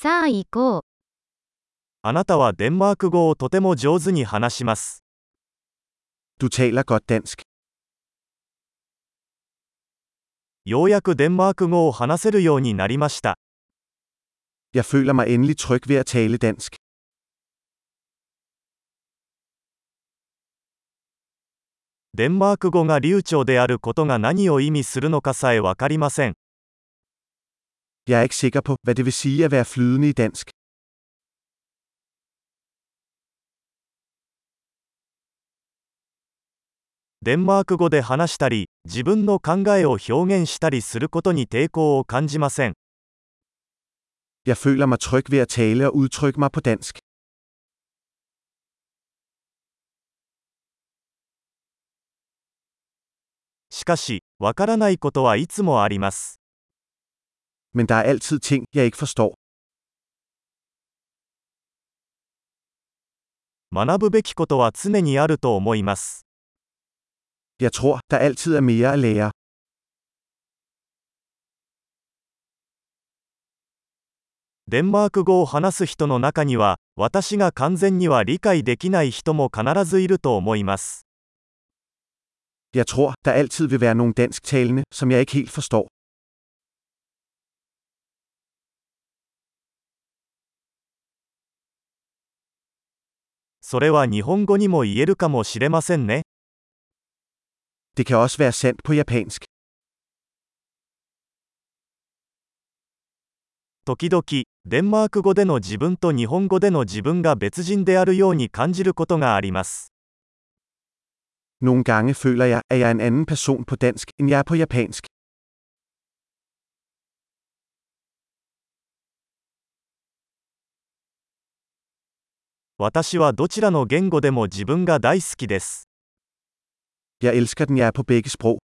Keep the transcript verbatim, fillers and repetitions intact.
さあ行こう。 あなたはデンマーク語をとても上手に話します。 Du taler godt dansk. ようやくデンマーク語を話せるようになりました。 Jeg føler mig endelig tryg ved at tale dansk. デンマーク語が流暢であることが何を意味するのかさえわかりません。 Jeg er ikke sikker på, hvad det vil sige at være flydende i dansk. デンマーク語で話したり、自分の考えを表現したりすることに抵抗を感じません。 Jeg føler mig tryg ved at tale og udtrykke mig på dansk. しかし、わからないことはいつもあります。 Men der er altid ting, jeg ikke forstår. 学ぶべきことは常にあると思います。 Jeg tror, der altid er mere at lære. デンマーク語を話す人の中には、私が完全には理解できない人も必ずいると思います。 Jeg tror, der altid vil være nogle dansktalende, som jeg ikke helt forstår. それは日本語にも言えるかもしれませんね。 Det kan også være sandt på japansk. 時々、デンマーク語での自分と日本語での自分が別人であるように感じることがあります。 Nogle gange føler jeg, at jeg er en anden person på dansk, end jeg er på japansk. 私はどちらの言語でも自分が大好きです。 Jeg elsker den, jeg er på begge sprog.